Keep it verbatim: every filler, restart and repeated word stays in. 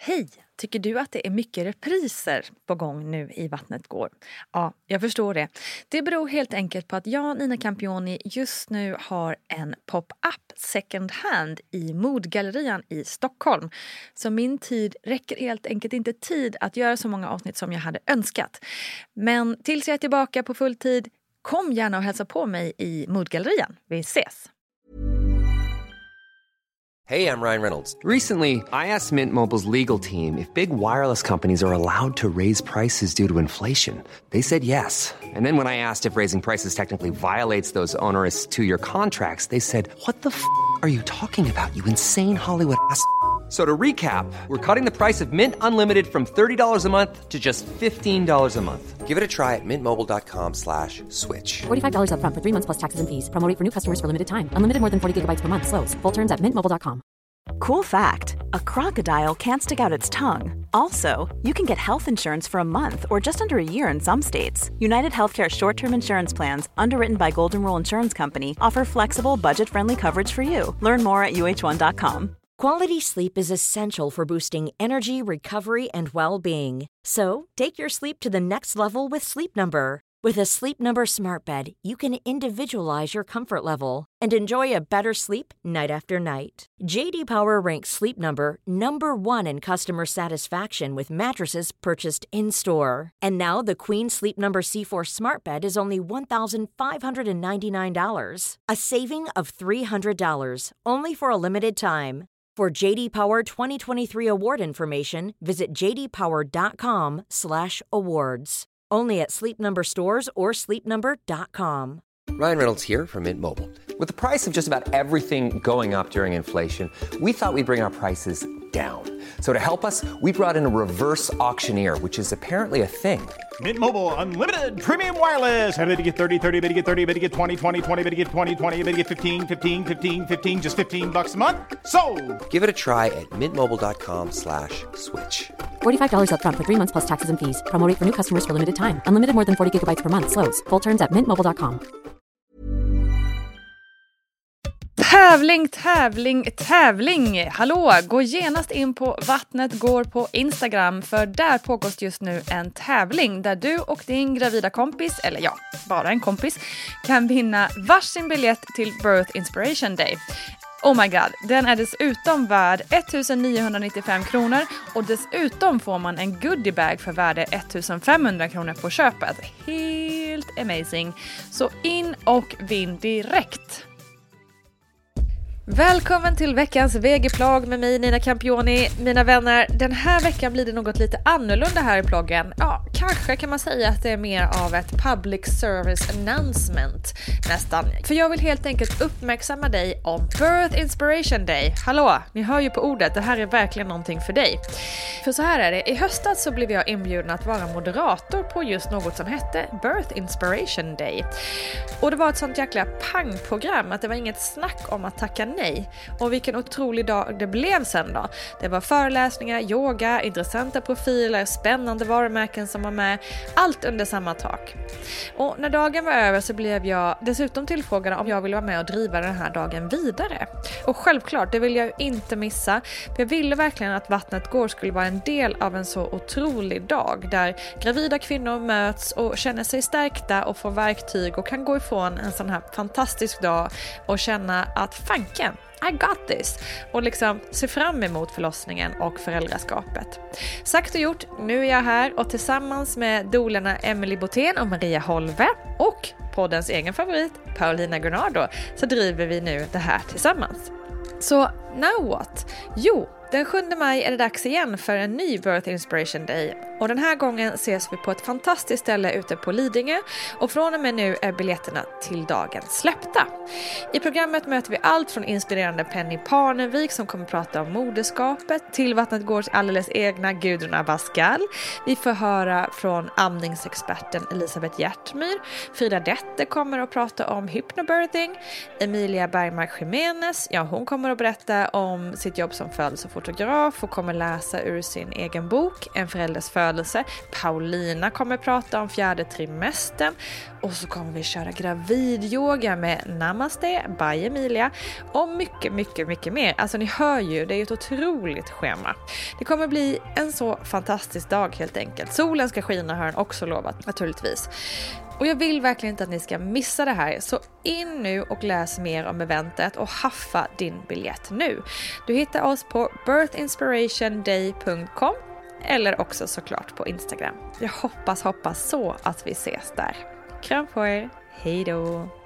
Hej! Tycker du att det är mycket repriser på gång nu i Vattnet går? Ja, jag förstår det. Det beror helt enkelt på att jag, Nina Campioni, just nu har en pop-up second hand i Modgallerian i Stockholm. Så min tid räcker helt enkelt inte tid att göra så många avsnitt som jag hade önskat. Men tills jag är tillbaka på full tid, kom gärna och hälsa på mig i Modgallerian. Vi ses! Hey, I'm Ryan Reynolds. Recently, I asked Mint Mobile's legal team if big wireless companies are allowed to raise prices due to inflation. They said yes. And then when I asked if raising prices technically violates those onerous two-year contracts, they said, what the f*** are you talking about, you insane Hollywood ass f- So to recap, we're cutting the price of Mint Unlimited from thirty dollars a month to just fifteen dollars a month. Give it a try at mintmobile.com slash switch. forty-five dollars up front for three months plus taxes and fees. Promo rate for new customers for limited time. Unlimited more than forty gigabytes per month. Slows full terms at mint mobile dot com. Cool fact, a crocodile can't stick out its tongue. Also, you can get health insurance for a month or just under a year in some states. United Healthcare short-term insurance plans, underwritten by Golden Rule Insurance Company, offer flexible, budget-friendly coverage for you. Learn more at U H one dot com. Quality sleep is essential for boosting energy, recovery, and well-being. So, take your sleep to the next level with Sleep Number. With a Sleep Number smart bed, you can individualize your comfort level and enjoy a better sleep night after night. J D Power ranks Sleep Number number one in customer satisfaction with mattresses purchased in-store. And now the Queen Sleep Number C four smart bed is only one thousand five hundred ninety-nine dollars. A saving of three hundred dollars, only for a limited time. For J D Power twenty twenty-three award information, visit j d power dot com slash awards. Only at Sleep Number stores or sleep number dot com. Ryan Reynolds here from Mint Mobile. With the price of just about everything going up during inflation, we thought we'd bring our prices down. So to help us, we brought in a reverse auctioneer, which is apparently a thing. Mint Mobile Unlimited Premium Wireless. How to get thirty, thirty, bit to get thirty, bit to get twenty, twenty, twenty, bit to get twenty, twenty, bit to get fifteen, fifteen, fifteen, fifteen, just fifteen bucks a month? Sold! Give it a try at mintmobile.com slash switch. forty-five dollars up front for three months plus taxes and fees. Promo rate for new customers for limited time. Unlimited more than forty gigabytes per month. Slows full terms at mint mobile dot com. Tävling, tävling, tävling! Hallå, gå genast in på Vattnet går på Instagram, för där pågår just nu en tävling där du och din gravida kompis, eller ja, bara en kompis, kan vinna varsin biljett till Birth Inspiration Day. Oh my god, den är dessutom värd ettusenniohundranittiofem kronor och dessutom får man en goodiebag för värde ettusenfemhundra kronor på köpet. Helt amazing! Så in och vinn direkt! Välkommen till veckans V G-plogg med mig, Nina Campioni. Mina vänner, den här veckan blir det något lite annorlunda här i ploggen. Ja, kanske kan man säga att det är mer av ett public service announcement nästan. För jag vill helt enkelt uppmärksamma dig om Birth Inspiration Day. Hallå, ni hör ju på ordet, det här är verkligen någonting för dig. För så här är det, i höstas så blev jag inbjuden att vara moderator på just något som hette Birth Inspiration Day. Och det var ett sånt jäkla pangprogram att det var inget snack om att tacka nej. Nej. Och vilken otrolig dag det blev sen då. Det var föreläsningar, yoga, intressanta profiler, spännande varumärken som var med. Allt under samma tak. Och när dagen var över så blev jag dessutom tillfrågad om jag ville vara med och driva den här dagen vidare. Och självklart, det vill jag ju inte missa. För jag ville verkligen att Vattnet går skulle vara en del av en så otrolig dag. Där gravida kvinnor möts och känner sig stärkta och får verktyg och kan gå ifrån en sån här fantastisk dag och känna att fanken, I got this. Och liksom se fram emot förlossningen och föräldraskapet. Sagt och gjort, nu är jag här och tillsammans med dolerna Emily Botén och Maria Holve och poddens egen favorit Paulina Gunnardo så driver vi nu det här tillsammans. Så now what? Jo, den sjunde maj är det dags igen för en ny Birth Inspiration Day. Och den här gången ses vi på ett fantastiskt ställe ute på Lidingö. Och från och med nu är biljetterna till dagen släppta. I programmet möter vi allt från inspirerande Penny Parnevik som kommer prata om moderskapet till Vattnet Gårds alldeles egna Gudrun Abascal. Vi får höra från amningsexperten Elisabeth Hjärtmyr. Frida Dette kommer att prata om hypnobirthing. Emilia Bergmark Jimenez, ja hon kommer att berätta om sitt jobb som födelse fotograf och kommer läsa ur sin egen bok En förälders födelse. Paulina kommer prata om fjärde trimestern. Och så kommer vi köra gravidyoga med Namaste by Emilia. Och mycket, mycket, mycket mer. Alltså ni hör ju, det är ett otroligt schema. Det kommer bli en så fantastisk dag helt enkelt. Solen ska skina, har han också lovat naturligtvis. Och jag vill verkligen inte att ni ska missa det här. Så in nu och läs mer om eventet och haffa din biljett nu. Du hittar oss på birth inspiration day punkt com eller också såklart på Instagram. Jag hoppas, hoppas så att vi ses där. Kram på er. Hej då!